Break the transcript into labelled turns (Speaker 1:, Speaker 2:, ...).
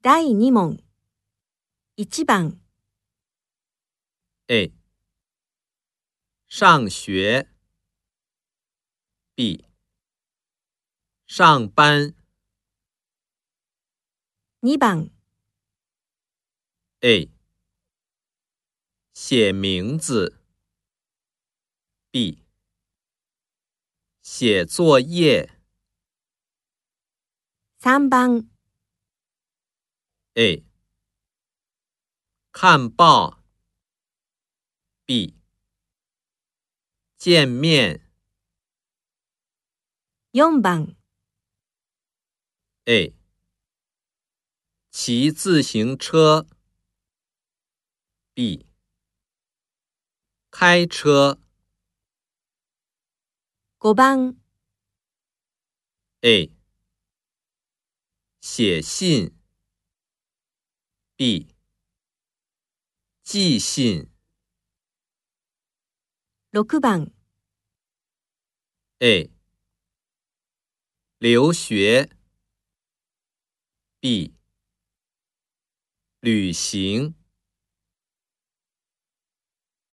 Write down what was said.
Speaker 1: 第2問。1番。
Speaker 2: A. 上学 B. 上班
Speaker 1: 2番。
Speaker 2: A. 写名字 B. 写作业
Speaker 1: 3番。
Speaker 2: A. 看报 B. 见面
Speaker 1: 4番。
Speaker 2: A. 骑自行车 B. 开车
Speaker 1: 5番。
Speaker 2: A. 写信 B. 寄信
Speaker 1: 6番。
Speaker 2: A. 留学 B. 旅行